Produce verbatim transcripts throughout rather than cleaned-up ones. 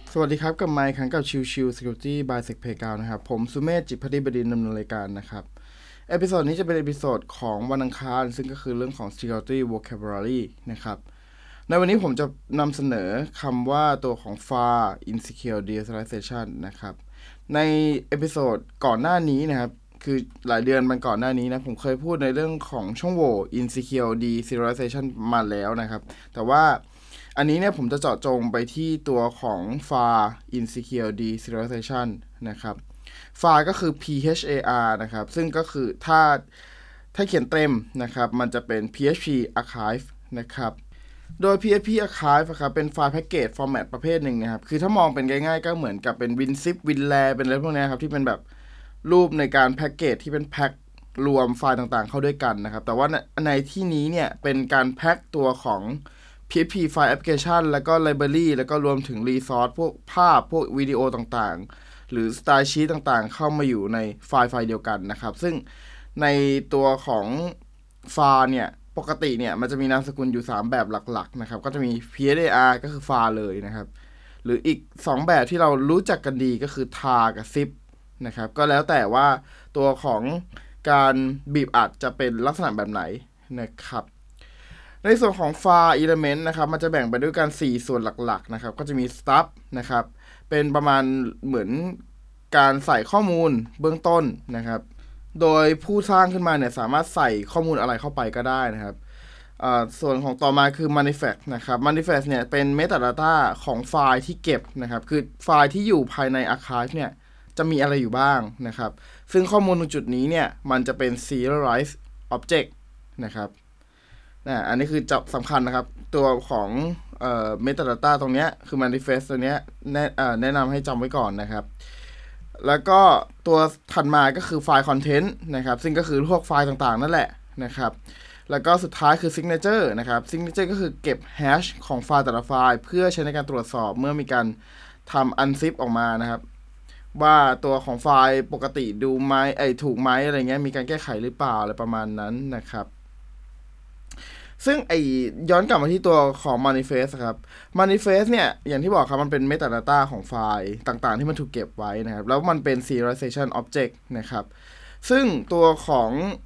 สวัสดีครับกับไมค์ครั้งกับชิวชิว Security by Sec Playground นะครับผมสุเมธจิตรพัฒน์บดินทร์ดำเนินรายการนะครับเอพิโซดนี้จะเป็นเอพิโซดของวันอังคารซึ่งก็คือเรื่องของ Security Vocabulary นะครับในวันนี้ผมจะนำเสนอคำว่าตัวของ ฟา อาร์ Insecure Deserialization นะครับในเอพิโซดก่อนหน้านี้นะครับคือหลายเดือนมันก่อนหน้านี้นะผมเคยพูดในเรื่องของช่องโหว่ Insecure Deserialization มาแล้วนะครับแต่ว่าอันนี้เนี่ยผมจะเจาะจงไปที่ตัวของ ฟา อาร์ Insecure Deserialization นะครับ ฟา อาร์ ก็คือ พี เอช เอ อาร์ นะครับซึ่งก็คือถ้าถ้าเขียนเต็มนะครับมันจะเป็น พี เอช พี Archive นะครับโดย พี เอช พี Archive นะครับเป็นไฟล์แพ็กเกจฟอร์แมตประเภทหนึ่งนะครับคือถ้ามองเป็นง่ายๆก็เหมือนกับเป็น WinZip WinRAR เป็นอะไรพวกนี้ครับที่เป็นแบบรูปในการแพ็กเกจที่เป็นแพ็ครวมไฟล์ต่างๆเข้าด้วยกันนะครับแต่ว่าในที่นี้เนี่ยเป็นการแพ็คตัวของ พี เอช พี File Application แล้วก็ Library แล้วก็รวมถึง Resource พวกภาพพวกวิดีโอต่างๆหรือ Style Sheet ต่างๆเข้ามาอยู่ในไฟล์ไฟล์เดียวกันนะครับซึ่งในตัวของ ฟา อาร์ เนี่ยปกติเนี่ยมันจะมีนามสกุลอยู่สามแบบหลักๆนะครับก็จะมี พี เอช เอ อาร์ ก็คือ ฟา อาร์ เลยนะครับหรืออีกสองแบบที่เรารู้จักกันดีก็คือ ที เอ อาร์ กับ ซิป นะครับก็แล้วแต่ว่าตัวของการบีบอัดจะเป็นลักษณะแบบไหนนะครับในส่วนของ ฟา อาร์ element นะครับมันจะแบ่งไปด้วยกันสี่ส่วนหลักๆนะครับก็จะมี stub นะครับเป็นประมาณเหมือนการใส่ข้อมูลเบื้องต้นนะครับโดยผู้สร้างขึ้นมาเนี่ยสามารถใส่ข้อมูลอะไรเข้าไปก็ได้นะครับส่วนของต่อมาคือ manifest นะครับ manifest เนี่ยเป็น metadata ของไฟล์ที่เก็บนะครับคือไฟล์ที่อยู่ภายใน archive เนี่ยจะมีอะไรอยู่บ้างนะครับซึ่งข้อมูลตรงจุดนี้เนี่ยมันจะเป็น serialized object นะครับนะอันนี้คือจับสำคัญนะครับตัวของเอ่อ metadata ตรงเนี้ยคือ manifest ตัวเนี้ยแนะเอ่อแนะนำให้จำไว้ก่อนนะครับแล้วก็ตัวถัดมาก็คือไฟล์ content นะครับซึ่งก็คือพวกไฟล์ต่างๆนั่นแหละนะครับแล้วก็สุดท้ายคือ signature นะครับ signature ก็คือเก็บ hash ของไฟล์แต่ละไฟล์เพื่อใช้ในการตรวจสอบเมื่อมีการทำ unzip ออกมานะครับว่าตัวของไฟล์ปกติดูไหมไอถูกไหมอะไรเงี้ยมีการแก้ไขหรือเปล่าอะไรประมาณนั้นนะครับซึ่งไอย้อนกลับมาที่ตัวของ manifest ครับ manifest เนี่ยอย่างที่บอกครับมันเป็น metadata ของไฟล์ต่างๆที่มันถูกเก็บไว้นะครับแล้วมันเป็น serialization object นะครับซึ่งตัวของ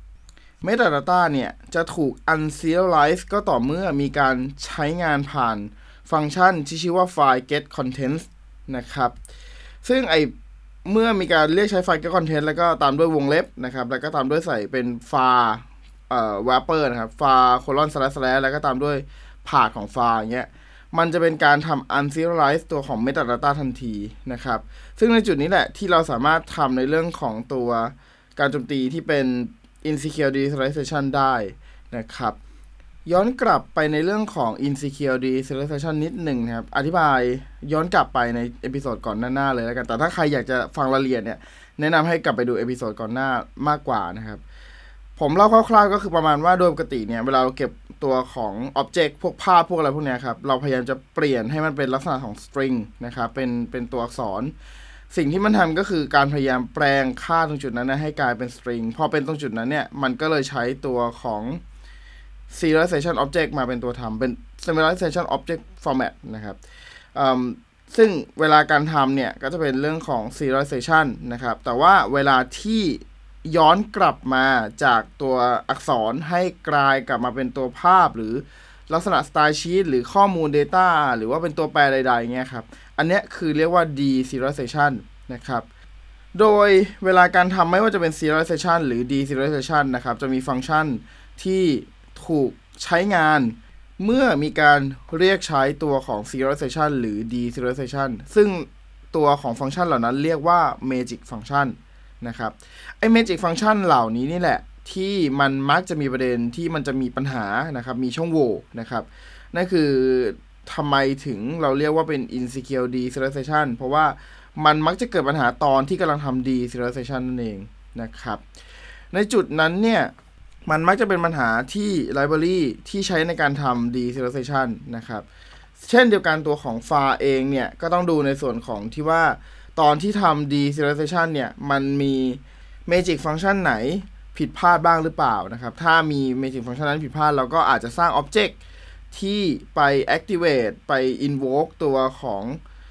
metadata เนี่ยจะถูก unserialize ก็ต่อเมื่อมีการใช้งานผ่านฟังก์ชันที่ชื่อว่า file get contents นะครับซึ่งไอเมื่อมีการเรียกใช้ file get content แล้วก็ตามด้วยวงเล็บนะครับแล้วก็ตามด้วยใส่เป็น fileเอ่อ wrapper นะครับ file colon slash slash แล้วก็ตามด้วยพาธของ file อย่างเงี้ยมันจะเป็นการทำ unserialize ตัวของ metadata ทันทีนะครับซึ่งในจุดนี้แหละที่เราสามารถทำในเรื่องของตัวการโจมตีที่เป็น insecure deserialization ได้นะครับย้อนกลับไปในเรื่องของ insecure deserialization นิดหนึ่งนะครับอธิบายย้อนกลับไปในเอพิโซดก่อนหน้าๆเลยแล้วกันแต่ถ้าใครอยากจะฟังรายละเอียดเนี่ยแนะนำให้กลับไปดูเอพิโซดก่อนหน้ามากกว่านะครับผมเล่าคร่าวๆก็คือประมาณว่าโดยปกติเนี่ยเวลาเราเก็บตัวของ object พวกภาพพวกอะไรพวกนี้ครับเราพยายามจะเปลี่ยนให้มันเป็นลักษณะของ string นะครับเป็นเป็นตัวอักษรสิ่งที่มันทำก็คือการพยายามแปลงค่าตรงจุดนั้นนะให้กลายเป็น string พอเป็นตรงจุดนั้นเนี่ยมันก็เลยใช้ตัวของ serialization object มาเป็นตัวทำเป็น serialization object format นะครับซึ่งเวลาการทำเนี่ยก็จะเป็นเรื่องของ serialization นะครับแต่ว่าเวลาที่ย้อนกลับมาจากตัวอักษรให้กลายกลับมาเป็นตัวภาพหรือลักษณะ style sheet หรือข้อมูล data หรือว่าเป็นตัวแปรใดๆเงี้ยครับอันนี้คือเรียกว่า deserialization นะครับโดยเวลาการทำไม่ว่าจะเป็น serialization หรือ deserialization นะครับจะมีฟังก์ชันที่ถูกใช้งานเมื่อมีการเรียกใช้ตัวของ serialization หรือ deserialization ซึ่งตัวของฟังก์ชันเหล่านั้นเรียกว่า magic function นะครับไอ้ magic function เหล่านี้นี่แหละที่มันมักจะมีประเด็นที่มันจะมีปัญหานะครับมีช่องโหว่นะครับนั่นคือทำไมถึงเราเรียกว่าเป็น insecure deserialization เพราะว่ามันมักจะเกิดปัญหาตอนที่กำลังทำ deserialization นั่นเองนะครับในจุดนั้นเนี่ยมันมักจะเป็นปัญหาที่ library ที่ใช้ในการทำ deserialization นะครับเช่นเดียวกันตัวของ ฟา อาร์ เองเนี่ยก็ต้องดูในส่วนของที่ว่าตอนที่ทำ deserialization เนี่ยมันมี magic function ไหนผิดพลาดบ้างหรือเปล่านะครับถ้ามี magic function นั้นผิดพลาดเราก็อาจจะสร้าง object ที่ไป activate ไป invoke ตัวของ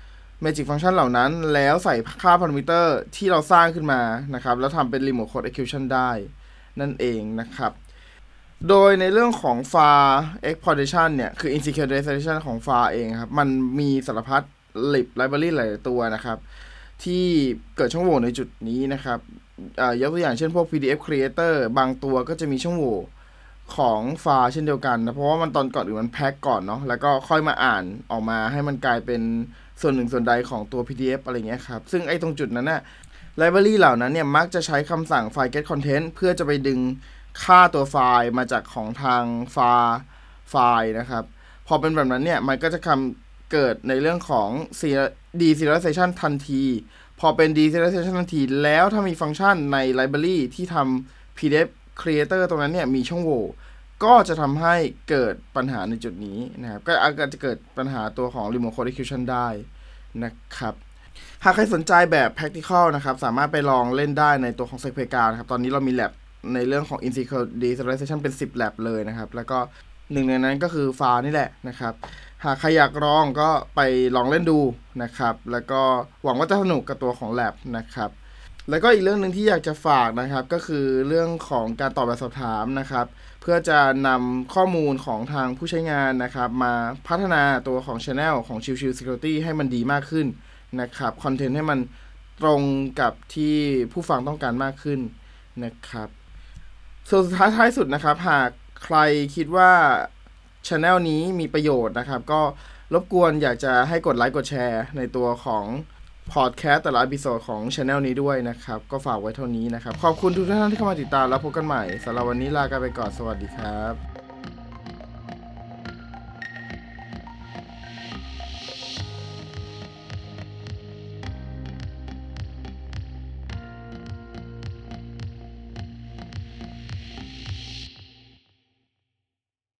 Magic Function เหล่านั้นแล้วใส่ค่า parameter ที่เราสร้างขึ้นมานะครับแล้วทำเป็น remote code execution ได้นั่นเองนะครับโดยในเรื่องของ var exportation เนี่ยคือ insecuritisation ของ var เองครับมันมีสารพัด lib library หลายตัวนะครับที่เกิดช่องโหว่ในจุดนี้นะครับยกตัวอย่างเช่นพวก พี ดี เอฟ creator บางตัวก็จะมีช่องโหว่ของ var เช่นเดียวกันนะเพราะว่ามันตอนก่อนอื่นมันแพ็กก่อนเนาะแล้วก็ค่อยมาอ่านออกมาให้มันกลายเป็นส่วนหนึ่งส่วนใดของตัว พี ดี เอฟ อะไรเงี้ยครับซึ่งไอ้ตรงจุดนั้นน่ะ library เหล่านั้นเนี่ยมักจะใช้คำสั่ง file get content เพื่อจะไปดึงค่าตัวไฟล์มาจากของทาง var ไฟล์นะครับพอเป็นแบบนั้นเนี่ยมันก็จะทำเกิดในเรื่องของ deserialization ทันทีพอเป็น deserialization ทันทีแล้วถ้ามีฟังก์ชันใน library ที่ทำ พี ดี เอฟ creator ตรงนั้นเนี่ยมีช่องโหว่ก็จะทำให้เกิดปัญหาในจุดนี้นะครับก็อาจจะเกิดปัญหาตัวของ remote code execution ได้นะครับหากใครสนใจแบบ practical นะครับสามารถไปลองเล่นได้ในตัวของ SecPlayground นะครับตอนนี้เรามี lab ในเรื่องของ insecure deserialization เป็นสิบ lab เลยนะครับแล้วก็หนึ่งในนั้นก็คือ var นี่แหละนะครับหากใครอยากลองก็ไปลองเล่นดูนะครับแล้วก็หวังว่าจะสนุกกับตัวของ lab นะครับแล้วก็อีกเรื่องนึงที่อยากจะฝากนะครับก็คือเรื่องของการตอบแบบสอบถามนะครับเพื่อจะนำข้อมูลของทางผู้ใช้งานนะครับมาพัฒนาตัวของ channel ของ Chill Chill Security ให้มันดีมากขึ้นนะครับคอนเทนต์ให้มันตรงกับที่ผู้ฟังต้องการมากขึ้นนะครับส่วนสุดท้ายท้ายสุดนะครับหากใครคิดว่า channel นี้มีประโยชน์นะครับก็รบกวนอยากจะให้กดไลค์กดแชร์ในตัวของพอดแคสต์แต่ละอีพิโซดของ channel นี้ด้วยนะครับก็ฝากไว้เท่านี้นะครับขอบคุณทุกท่านที่เข้ามาติดตามแล้วพบกันใหม่สำหรับวันนี้ลากันไปก่อนสวัสดีครับ